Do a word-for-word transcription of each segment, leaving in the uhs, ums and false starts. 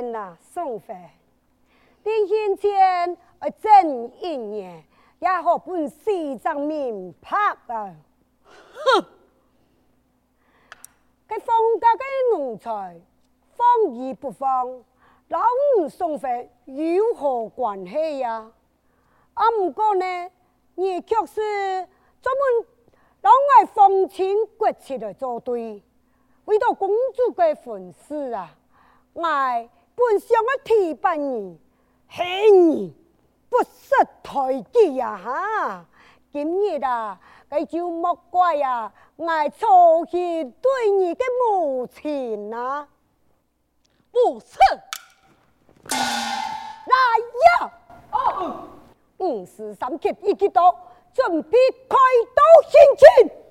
見啊，宋妃，臨行前要整一年，也好本西藏名拍啊！ 哼！ 該放假的奴才，放而不放，老五宋妃有何關係呀？啊，不過呢，你卻是專門老愛風情國戚來作對，為了公主的婚事啊，愛本想要提拔你，害你不識抬舉呀哈！今日啊，該就莫怪呀，愛操心對你的母親吶， 不是。 來呀！哦，五十三級一級刀，準備開刀行刑。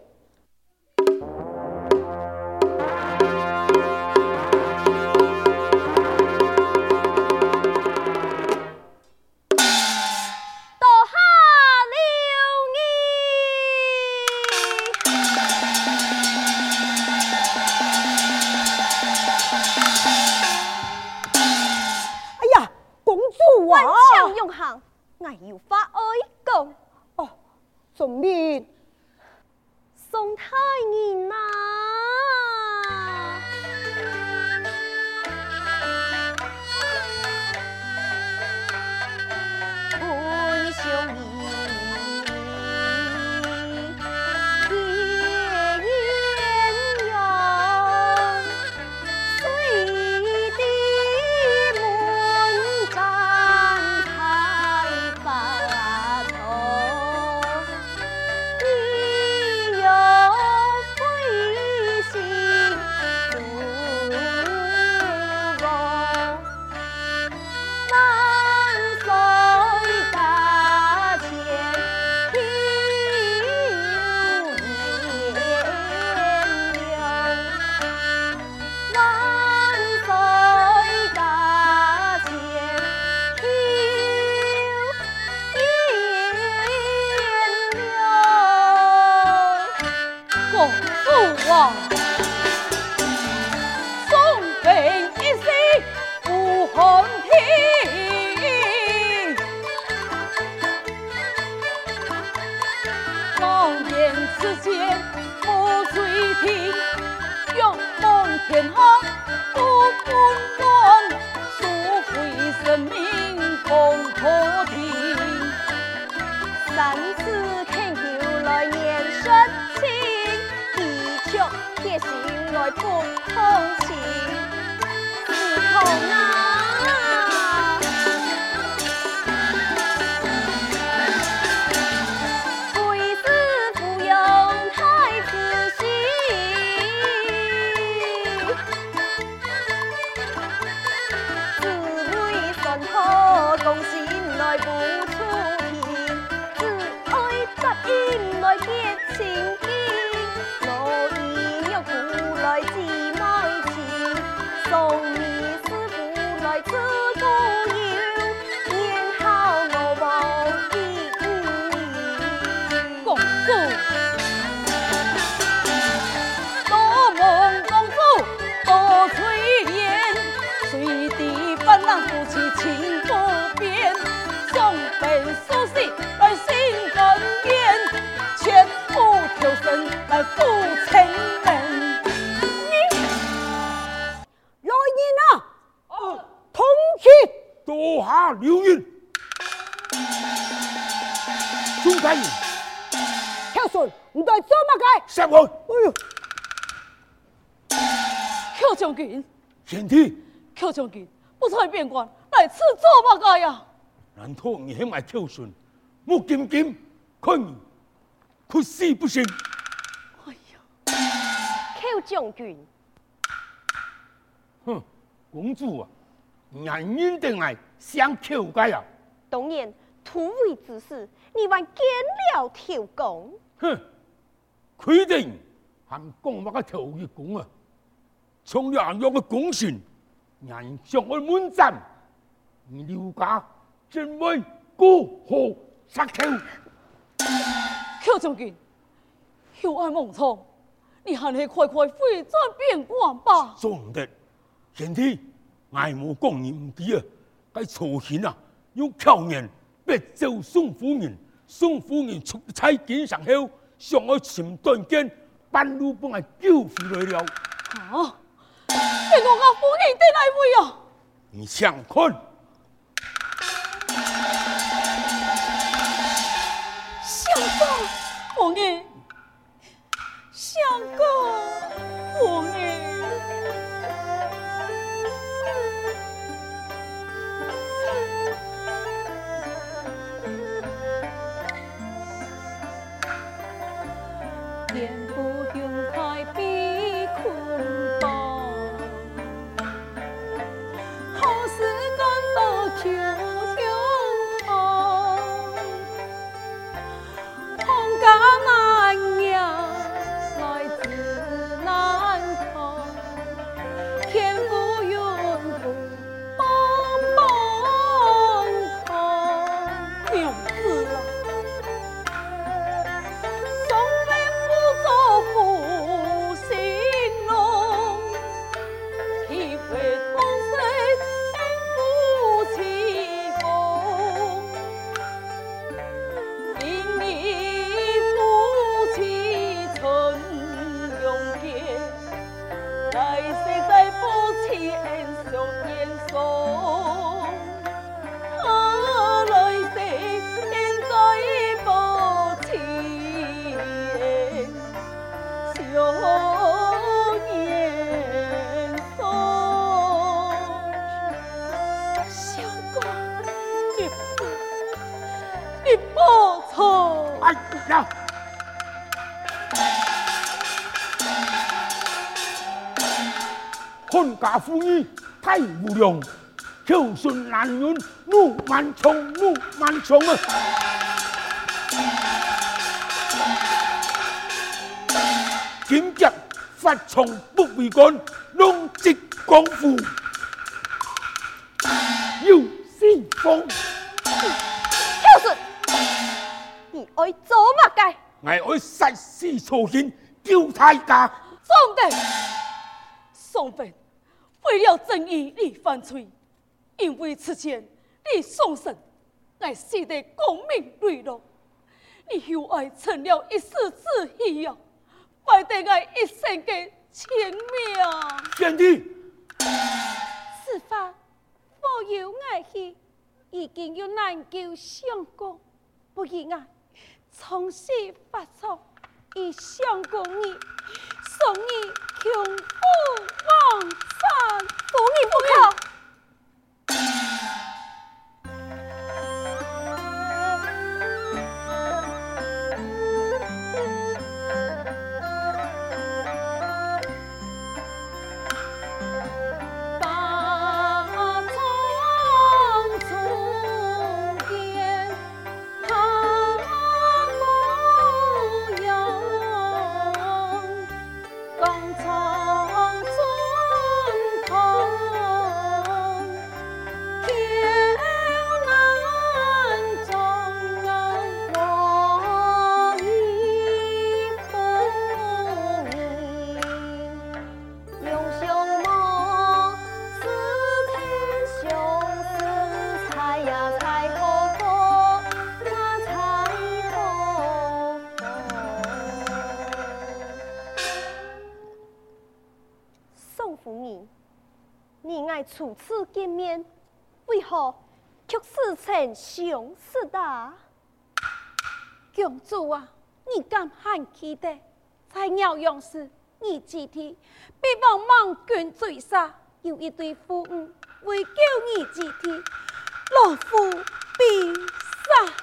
我有話愛講。 哦，什麼？ 宋太人啊！本相依。 流言，宋太人， 孝順，你在做乜嘅？ 殺我！ 哎呦， 寇將軍， 賢弟， 寇將軍，不才邊關來此做乜嘅呀？ 難道你係埋寇順，木金金，看你哭死不成？ 哎呀，寇將軍， 哼，公主啊！男人定係想求計啊！ 當然，突圍之事，你還見了條公。 哼，規定含講乜個條約講啊！從兩樣嘅公船，人上去滿站，你了解真為孤河殺寇。 寇將軍，有愛夢蒼，你還是快快回轉邊關吧。 做唔得，賢弟。 愛無講你唔記啊！該曹行啊，用巧言別奏宋夫人。宋夫人出差見上後，上去尋短見，半路幫我救回來了。 啊！係我家夫人的來位啊！ 你想看？ 相公，夫人，相公，夫人。 天不云開比坤邦，好事趕到秋胸膛，紅家難養，來自難扛，天不云不幫幫扛， 娘子啊！ 負心龍，體會同歲夫妻風，因你夫妻曾永結，來世再夫妻恩相嚴送，啊來世現在夫妻。有言說， 相公，你不，你不錯。 哎呀！看家婦女太無良，孝順男人怒萬重，怒萬重啊！今日法從不為官，弄直廣府，要先鋒。 孝順，你愛做乜嘅？ 我愛殺死曹行，救大家。 宋帝，宋妃為了正義你犯罪，因為此前你送神，我死得光明磊落，你又愛成了一世之義啊！敗得我一生嘅清命。 賢弟， 此法我有愛去，已經有難救相公，不如我從實發錯，以相公你送你窮夫往返，不義不可。初次見面，為何卻死成相似的？公主啊，你敢喊起的？在療養時，你記得被王莽軍追殺，有一對婦女為救你記得，老夫必殺。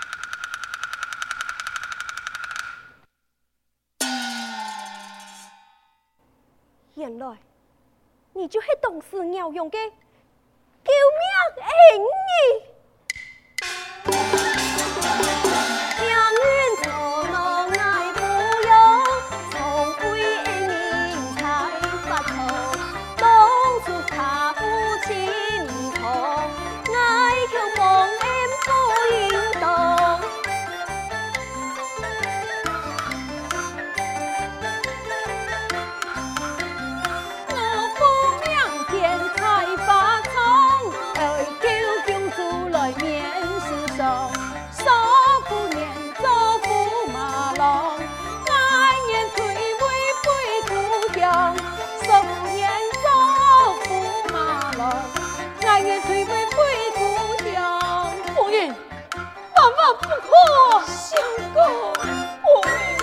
原來。你就係當時療養嘅救命恩義。才把上，少婦年做駙馬郎，愛年退位歸故鄉。少婦年做駙馬郎，愛年退位歸故鄉。 夫人，萬萬不可！ 相公， 夫人。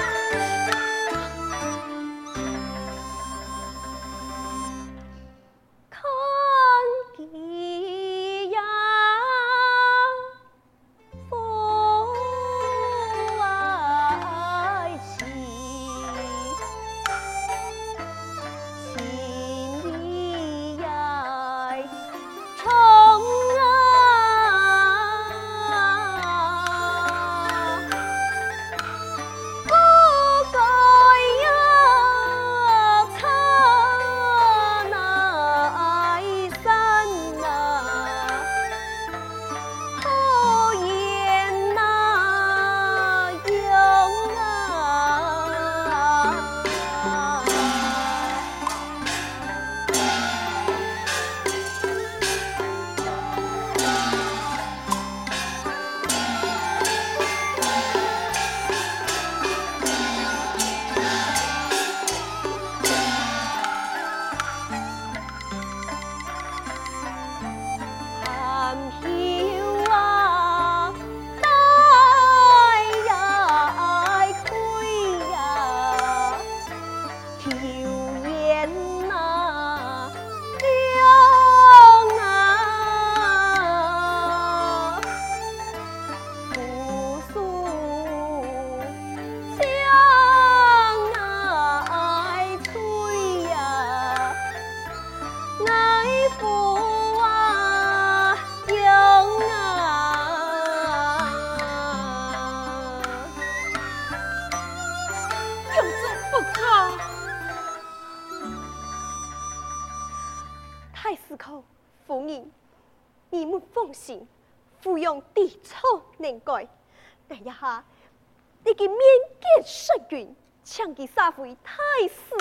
夫人，你們放心，芙蓉地臭能改。但一下，你嘅面見失緣，搶佢殺回太師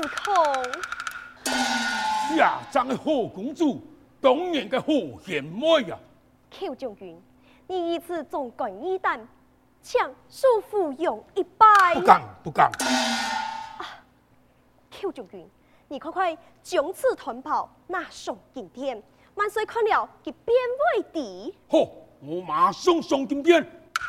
宮。 呀，真係何公主，當然嘅何賢妹啊！ 寇將軍，你一次總管義膽，請恕芙蓉一拜。 不敢，不敢。 啊，寇將軍，你快快將此團袍拿上金殿。萬歲看了，佢便為敵。 好，我馬上上金殿。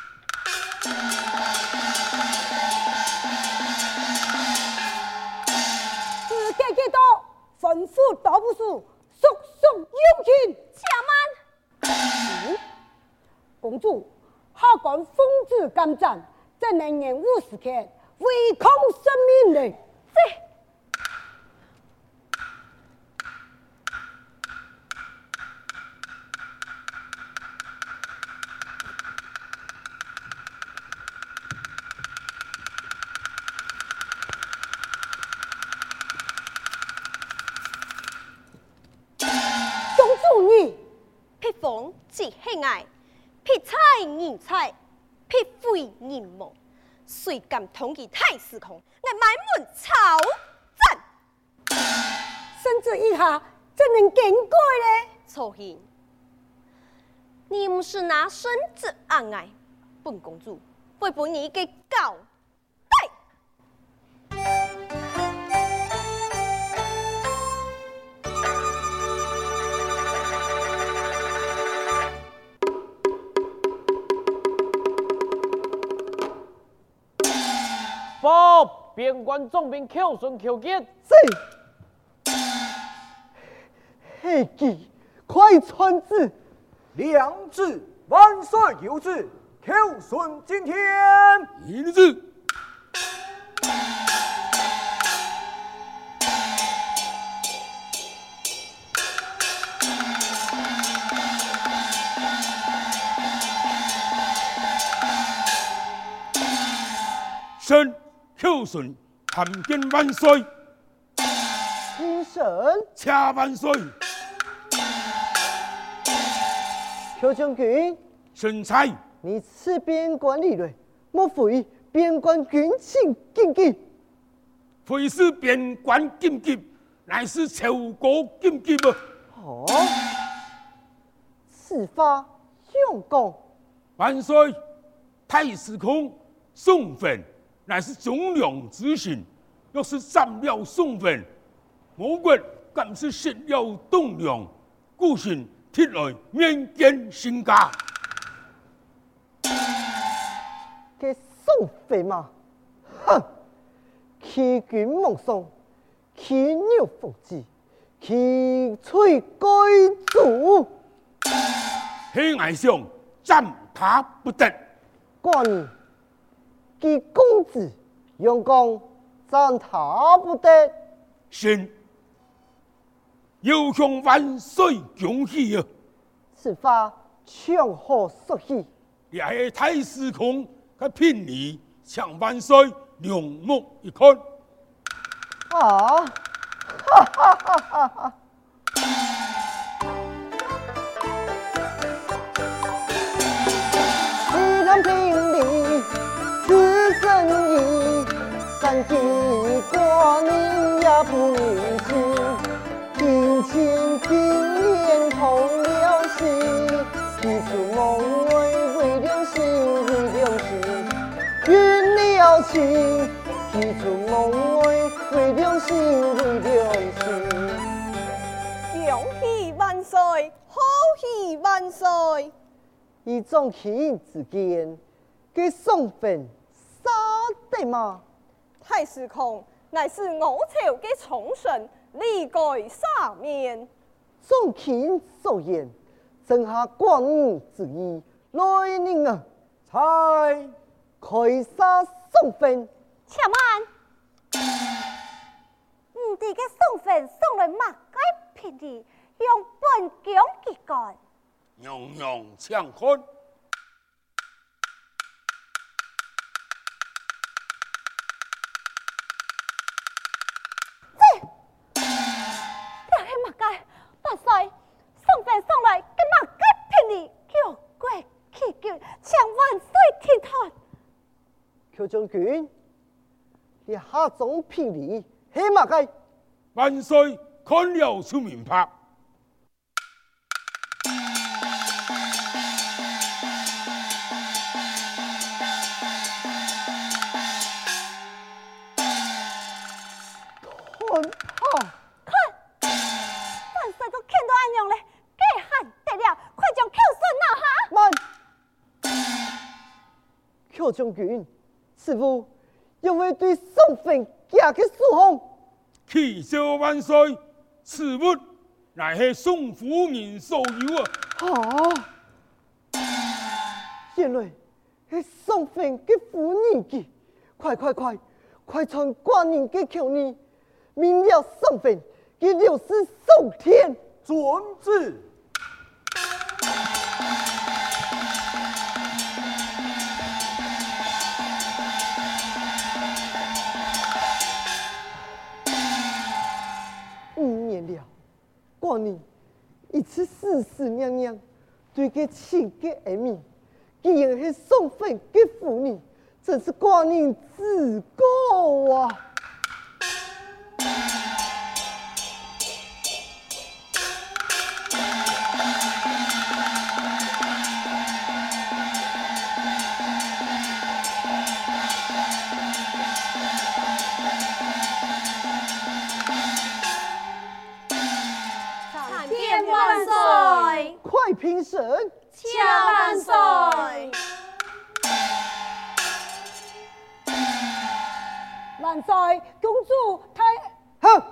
時間幾多？吩咐道部署，速速邀請。 且慢。 嗯，公主，下官奉旨干戰，怎能延誤時刻，違抗生命呢？ 這。匹風即喜愛，匹彩人才，匹非人夢。誰敢統計太師空？我滿門抄斬。 甚至以下怎能見鬼呢？ 錯hin你不是拿身子按愛，本公主會把你給交代。 報邊關總兵寇順寇傑。 是。黑騎快傳旨， 良子萬歲有旨，寇順今天。 一旨。臣寇順參見萬歲。 臣神。 且萬歲。 寇將軍。 臣才。 你此邊關理論，莫非邊關軍情緊急？ 非是邊關緊急，乃是朝歌緊急啊！ 哦，此話相公。 萬歲！太史公送墳乃是忠良之臣，若是斬了送墳，我國敢是失了棟梁，孤身鐵來面見聖駕。 給送墳嘛，哼！欺君罔上，欺牛伏擊，欺取該主。 黑矮相斬他不得。 寡人，其公子楊剛斬他不得。 臣要向萬歲恭喜啊！ 此話從何說起？ 也係太史公嘅聘禮，請萬歲兩目一看。 啊！哈哈哈哈哈！一人聘禮，此生意，但記寡人也不忍心，庭前今年同了心，提出夢為為良心，為良心，運了情。提出夢為為良心，為良心。 恭喜萬歲，賀喜萬歲！ 以眾卿之見，給送墳殺得嗎？ 太史公乃是我朝的寵臣，理該赦免。 眾卿所言，正合寡人之意。來人啊， 猜開殺送墳。 且慢，吾哋嘅送墳送來乜該聘禮，用本宮結幹。 樣樣請看。 這，這係乜該？萬歲，送墳送來嘅乜該聘禮，叫國祈求，請萬歲聽看。 寇將軍。你下種聘禮係乜嘅？ 萬歲看了出明白。 看啊！ 看，萬歲都看到安樣咧，既喊得了，快將寇順拿下。 慢，寇將軍，師父。因為對送墳家嘅疏忽， 啟奏萬歲，此物乃係宋夫人所有啊！ 啊！原來係送墳嘅夫人嘅，快快快，快傳寡人嘅口令，明了送墳嘅六十送天。 遵旨。 寡人一次思思娘娘對佢情嘅恩義，既然係送墳嘅婦女，真是寡人自告啊！快評審！ 請萬歲！ 萬歲！公主太…… 哼！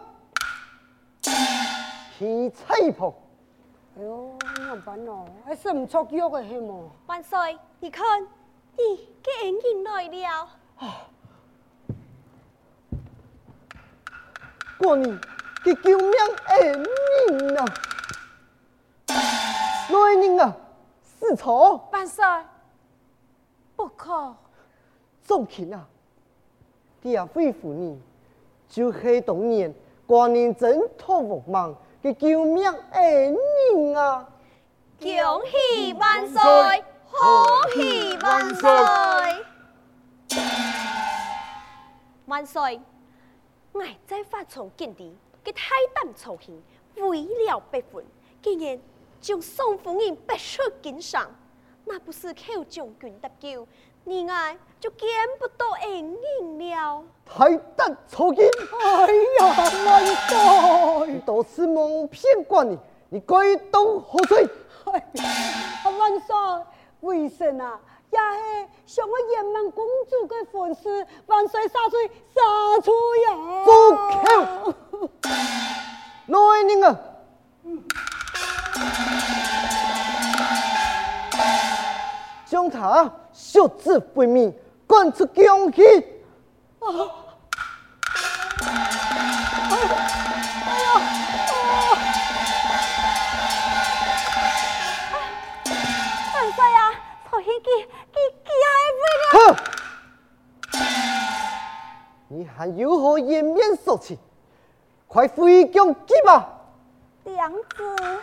起菜婆！ 哎呦，怎辦哦？還是唔出約嘅係麼？ 萬歲，你看，你嘅恩人來了。 寡人嘅救命恩人啊！來人啊，死錯！ 萬歲，不可！ 眾卿啊，這位婦人就是當年寡人掙脫惡夢嘅救命恩人啊！ 恭喜萬歲，賀喜萬歲！萬歲，我在法場見地，佢太膽粗行，為了別分，竟然將宋夫人逼出京上， 那不是寇將軍搭救，你愛就見不到恩人了。 太膽粗勁！ 哎呀，萬歲！ 都是蒙騙官的，你該當何罪？ 哎呀，萬歲！為甚啊？也是想我延滿公主的婚事，萬歲殺罪殺出呀！ 住口！來人啊！將他削至灰糜，趕出宮去！啊！ 哎呀！ 万歲啊！曹獻計，計計還哼！你還有何顏面說情？快回宮去吧！ 娘子。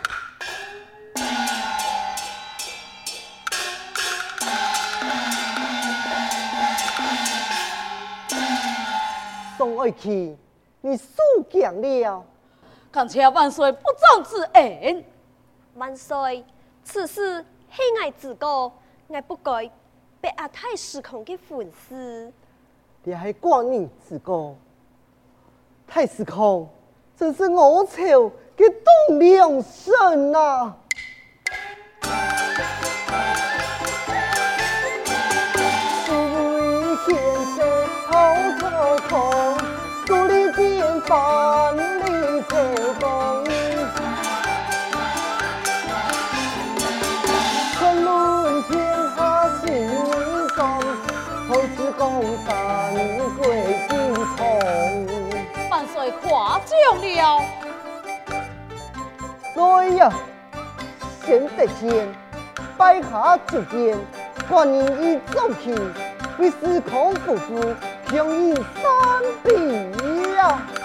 宋愛卿，你輸講了。 感謝萬歲不忠之恩。 萬歲，此事係我自個，我不該被阿太失控的婚事。 你係官人自個，太失控，真是我朝嘅棟梁神啊！獨立變萬里秋風，昆崙天下心中，後世江山歸金蟲。 萬歲誇獎了。 所以啊，先得見，拜下就見，官人已走去，為時空不顧。強贏三比呀！